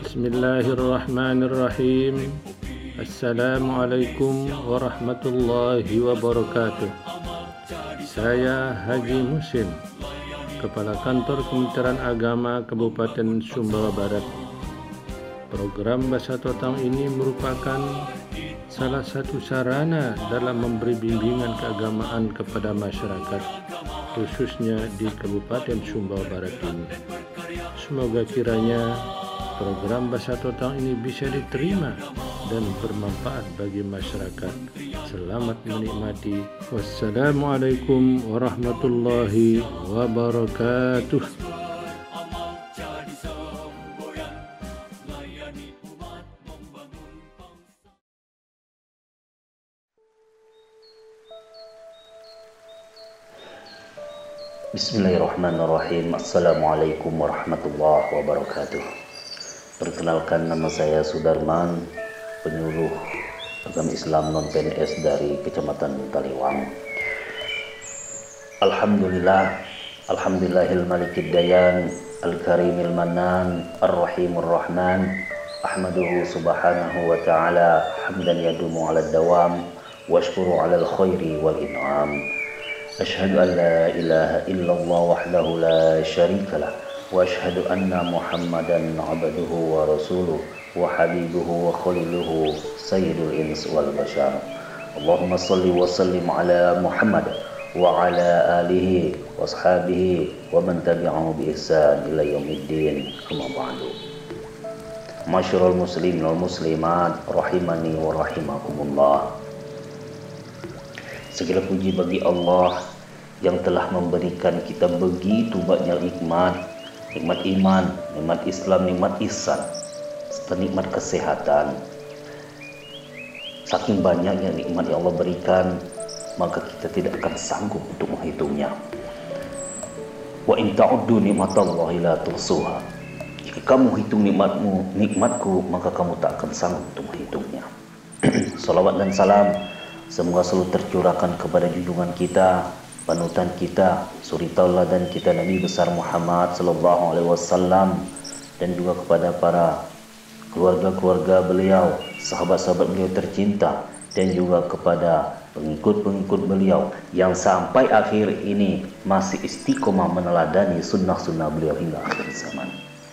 Bismillahirrahmanirrahim. Assalamualaikum warahmatullahi wabarakatuh. Saya Haji Musin, Kepala Kantor Kementerian Agama Kabupaten Sumbawa Barat. Program Bahasa Totang ini merupakan salah satu sarana dalam memberi bimbingan keagamaan kepada masyarakat, khususnya di Kabupaten Sumbawa Barat ini. Semoga kiranya program Bahasa Totang ini bisa diterima dan bermanfaat bagi masyarakat. Selamat menikmati. Wassalamualaikum warahmatullahi wabarakatuh. Bismillahirrahmanirrahim. Assalamualaikum warahmatullahi wabarakatuh. Perkenalkan, nama saya Sudarman, penyuluh agama Islam non-PNS dari Kecamatan Taliwang. Alhamdulillahil malikid dayan, al-karimil manan, ar-rahimur rahman. Ahmaduhu subhanahu wa ta'ala hamdan yadumu ala dawam, wa ashkuru ala al-khairi wal in'am. Ashhadu an la ilaha illallah wahdahu la syarika lah, wa ashhadu anna Muhammadan abduhu wa rasuluh wa habibuhu wa khaliluhu sayyidul ins wal bashar. Allahumma salli wa sallim ala Muhammad wa ala alihi wa ashabihi wa man tabi'ahu bi ihsan ila yaumiddin. Amma ba'du. Masyarul muslimin wal muslimat rahimani wa rahimakumullah. Segala puji bagi Allah yang telah memberikan kita begitu banyak nikmat iman, nikmat Islam, nikmat ihsan, serta nikmat kesehatan. Saking banyaknya nikmat yang Allah berikan, maka kita tidak akan sanggup untuk menghitungnya. Wa in ta'uddu nikmatallahi la tuhsuha. Jika kamu hitung nikmatku, maka kamu tak akan sanggup untuk menghitungnya. Salawat dan salam semoga selalu tercurahkan kepada junjungan kita, panutan kita, suri tauladan kita, Nabi besar Muhammad sallallahu alaihi wasallam, dan juga kepada para keluarga-keluarga beliau, sahabat-sahabat beliau tercinta, dan juga kepada pengikut-pengikut beliau yang sampai akhir ini masih istiqomah meneladani sunnah-sunnah beliau hingga akhir zaman.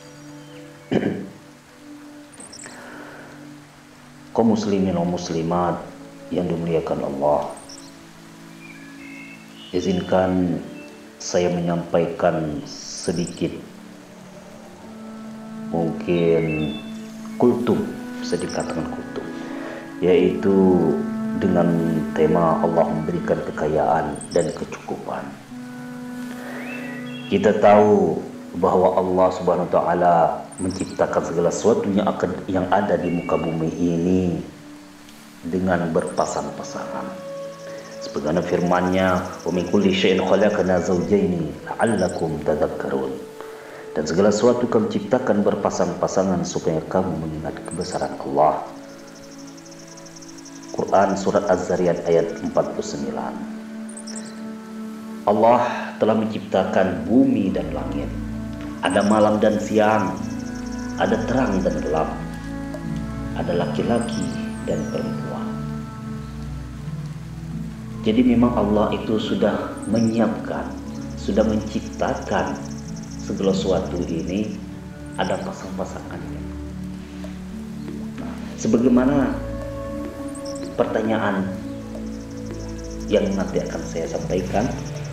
Kaum muslimin dan muslimat yang dimuliakan Allah, izinkan saya menyampaikan sedikit mungkin kultum, bisa dikatakan kultum, yaitu dengan tema Allah memberikan kekayaan dan kecukupan. Kita tahu bahwa Allah Subhanahu wa taala menciptakan segala sesuatu yang ada di muka bumi ini dengan berpasang-pasangan. Sebagaimana firman-Nya, "Wa min kulli syai'in khalaqna zawjaini la'allakum tadhakkarun." Dan segala sesuatu kami ciptakan berpasang-pasangan supaya kamu mengingat kebesaran Allah. Quran surat Az-Zariyat ayat 49. Allah telah menciptakan bumi dan langit. Ada malam dan siang, ada terang dan gelap, ada laki-laki dan perempuan. Jadi memang Allah itu sudah menyiapkan, sudah menciptakan segala sesuatu ini ada pasang-pasangannya. Nah, sebagaimana pertanyaan yang nanti akan saya sampaikan,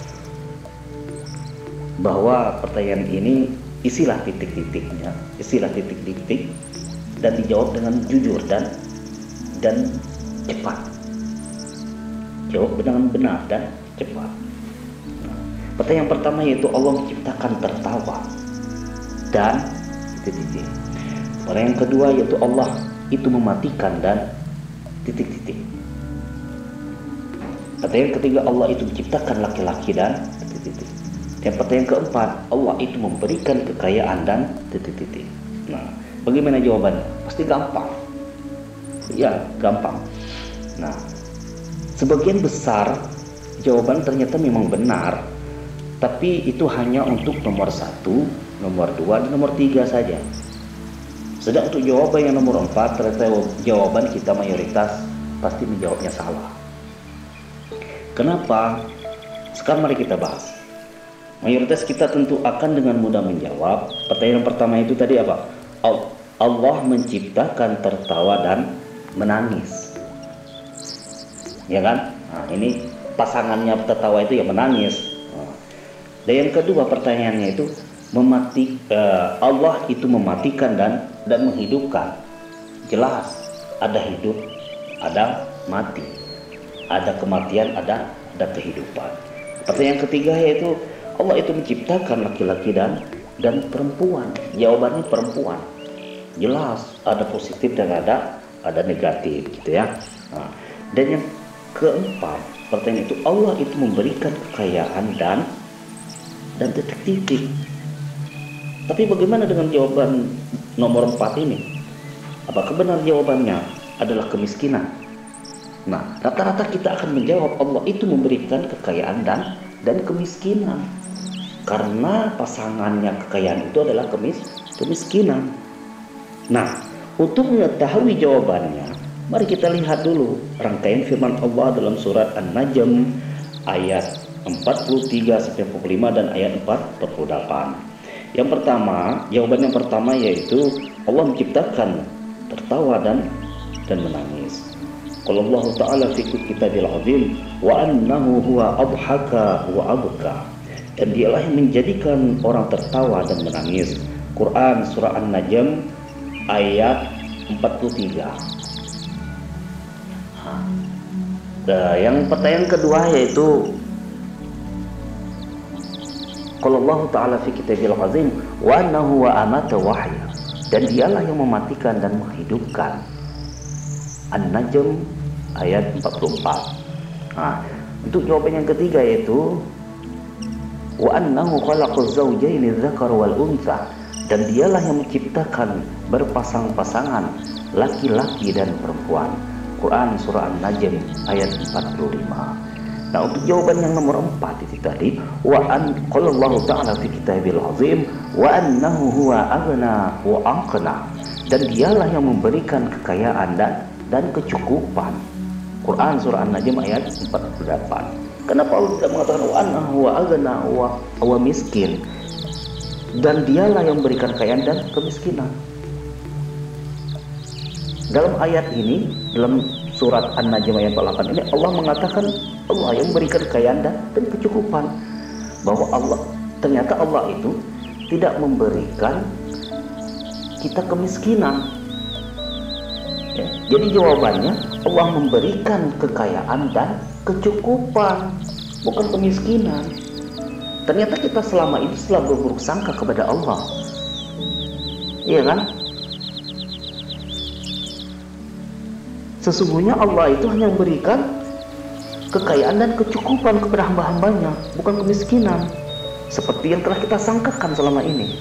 bahwa pertanyaan ini isilah titik-titiknya, isilah titik-titik dan dijawab dengan jujur dan cepat. Jawab dengan benar dan cepat. Pertanyaan pertama yaitu Allah menciptakan tertawa dan titik-titik. Pertanyaan kedua yaitu Allah itu mematikan dan titik-titik. Pertanyaan ketiga, Allah itu menciptakan laki-laki dan titik-titik. Dan pertanyaan keempat, Allah itu memberikan kekayaan dan titik-titik. Nah, bagaimana jawabannya? Pasti gampang. Ya, gampang. Nah, sebagian besar jawaban ternyata memang benar, tapi itu hanya untuk nomor 1, nomor 2, dan nomor 3 saja. Sedang untuk jawaban yang nomor 4, ternyata jawaban kita mayoritas pasti menjawabnya salah. Kenapa? Sekarang mari kita bahas. Mayoritas kita tentu akan dengan mudah menjawab. Pertanyaan pertama itu tadi apa? Allah menciptakan tertawa dan menangis. Ya kan? Nah, ini pasangannya tertawa itu ya menangis. Dan yang kedua pertanyaannya itu Allah itu mematikan dan menghidupkan. Jelas ada hidup, ada mati, ada kematian, ada kehidupan. Pertanyaan ketiga yaitu Allah itu menciptakan laki-laki dan perempuan. Jawabannya perempuan. Jelas ada positif dan ada negatif gitu ya. Nah, dan yang keempat pertanyaan itu Allah itu memberikan kekayaan dan titik-titik. Tapi bagaimana dengan jawaban nomor 4 ini? Apakah benar jawabannya adalah kemiskinan? Nah, rata-rata kita akan menjawab Allah itu memberikan kekayaan dan kemiskinan. Karena pasangannya kekayaan itu adalah kemiskinan. Nah, untuk mengetahui jawabannya, mari kita lihat dulu rangkaian firman Allah dalam surat An-Najm ayat 43-45 dan ayat 48. Yang pertama, jawaban yang pertama yaitu Allah menciptakan tertawa dan menangis. Qala Allah Ta'ala fi kitabil azim wa annahu huwa adhaka wa abka. Dan dialah yang menjadikan orang tertawa dan menangis. Quran surah An-Najm ayat 43. Yang pertanyaan kedua yaitu Qala Allah Ta'ala fi kitabil azim wa annahu wa amata wahya. Dan dialah yang mematikan dan menghidupkan. An-Najm ayat 44. Nah, untuk jawaban yang ketiga yaitu wa annahu khalaqaz zawjaini dzakar wal untha. Dan dialah yang menciptakan berpasang-pasangan laki-laki dan perempuan. Quran surah An-Najm ayat 45. Nah, untuk jawaban yang nomor 4 itu tadi qala Allah Ta'ala fi kitabil azim wa annahu huwa aghna wa aqna. Dan dialah yang memberikan kekayaan dan kecukupan. Quran surah An-Najm ayat 48. Kenapa Allah tidak mengatakan wa annahu huwa aghna wa miskin? Dan dialah yang memberikan kekayaan dan kemiskinan. Dalam ayat ini, dalam surat An-Najm ayat 48 ini Allah mengatakan Allah yang memberikan kekayaan dan kecukupan. Bahwa ternyata Allah itu tidak memberikan kita kemiskinan. Ya, jadi jawabannya Allah memberikan kekayaan dan kecukupan, bukan kemiskinan. Ternyata kita selama ini selalu berburuk sangka kepada Allah. Iya kan? Sesungguhnya Allah itu hanya memberikan kekayaan dan kecukupan kepada hamba-hambanya, bukan kemiskinan seperti yang telah kita sangkakan selama ini.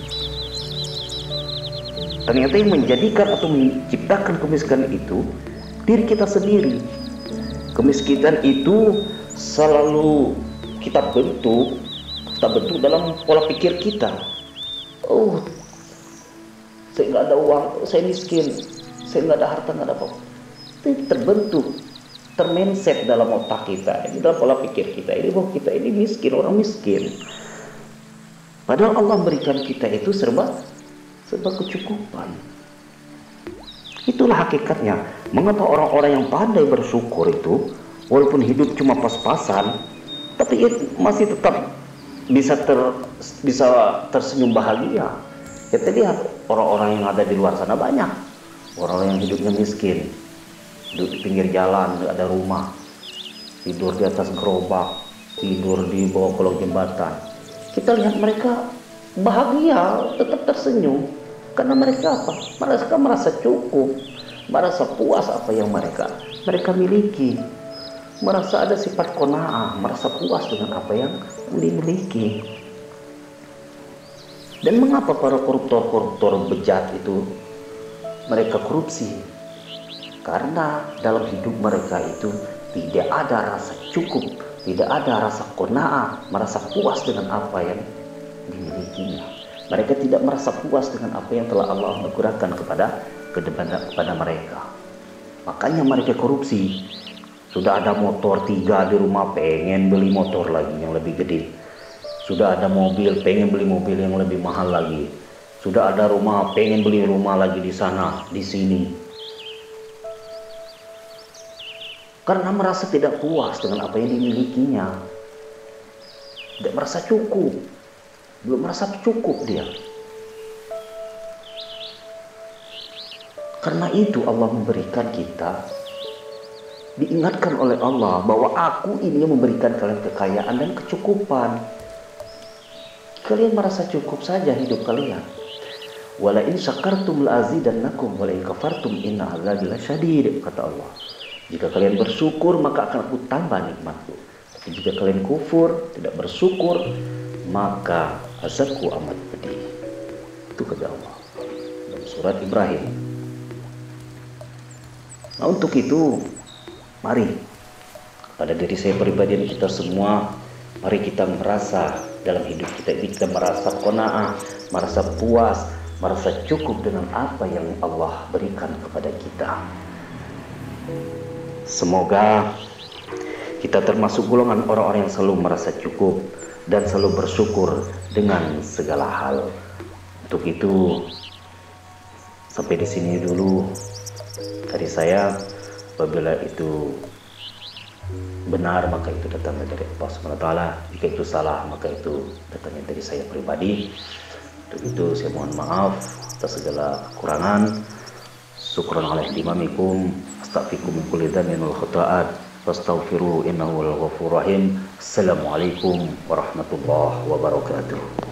Ternyata yang menjadikan atau menciptakan kemiskinan itu diri kita sendiri. Kemiskinan itu selalu kita bentuk dalam pola pikir kita. Oh, saya nggak ada uang, saya miskin, saya nggak ada harta, nggak ada apa-apa. Itu terbentuk, termindset dalam otak kita, ini dalam pola pikir kita. Ini bahwa kita ini miskin, orang miskin. Padahal Allah berikan kita itu serba kecukupan. Itulah hakikatnya. Mengapa orang-orang yang pandai bersyukur itu, walaupun hidup cuma pas-pasan, tapi masih tetap bisa tersenyum bahagia. Kita lihat orang-orang yang ada di luar sana banyak. Orang-orang yang hidupnya miskin, hidup di pinggir jalan, tidak ada rumah, tidur di atas gerobak, tidur di bawah kolong jembatan. Kita lihat mereka bahagia, tetap tersenyum. Karena mereka apa? Mereka merasa cukup, merasa puas apa yang mereka miliki. Merasa ada sifat qanaah, merasa puas dengan apa yang dimiliki. Dan mengapa para koruptor bejat itu mereka korupsi? Karena dalam hidup mereka itu tidak ada rasa cukup, tidak ada rasa qanaah, merasa puas dengan apa yang dimilikinya. Mereka tidak merasa puas dengan apa yang telah Allah anugerahkan kepada mereka. Makanya mereka korupsi. Sudah ada motor 3 di rumah, pengen beli motor lagi yang lebih gede. Sudah ada mobil, pengen beli mobil yang lebih mahal lagi. Sudah ada rumah, pengen beli rumah lagi di sana, di sini. Karena merasa tidak puas dengan apa yang dimilikinya. Tidak merasa cukup. Belum merasa cukup dia. Karena itu Allah memberikan kita, diingatkan oleh Allah bahwa aku ini yang memberikan kalian kekayaan dan kecukupan. Kalian merasa cukup saja hidup kalian. Wala in syakartum la azidannakum wala in kafartum inna azabi lasyadid, kata Allah. Jika kalian bersyukur maka akan aku tambah nikmatku. Tapi jika kalian kufur, tidak bersyukur, maka azabku amat pedih. Itu kata Allah dalam surat Ibrahim. Nah, untuk itu, mari pada diri saya pribadi dan kita semua, mari kita merasa dalam hidup kita merasa qanaah, merasa puas, merasa cukup dengan apa yang Allah berikan kepada kita. Semoga kita termasuk golongan orang-orang yang selalu merasa cukup dan selalu bersyukur dengan segala hal. Untuk itu, sampai di sini dulu dari saya. Apabila itu benar maka itu datangnya dari Allah SWT. Jika itu salah maka itu datangnya dari saya pribadi. Untuk itu saya mohon maaf atas segala kekurangan. Syukran ala ihtimamikum. Astaghfirukum min kulli dhanbin wal khata'at. Fastaghfiru innahu wal ghafurur rahim. Assalamualaikum warahmatullahi wabarakatuh.